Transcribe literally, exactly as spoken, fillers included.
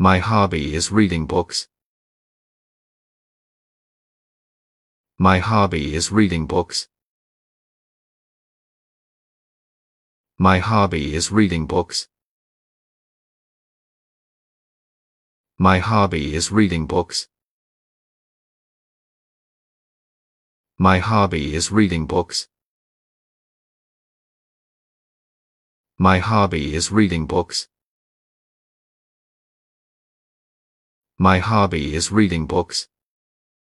My hobby is reading books. My hobby is reading books. My hobby is reading books. My hobby is reading books. My hobby is reading books. My hobby is reading books. My hobby is reading books.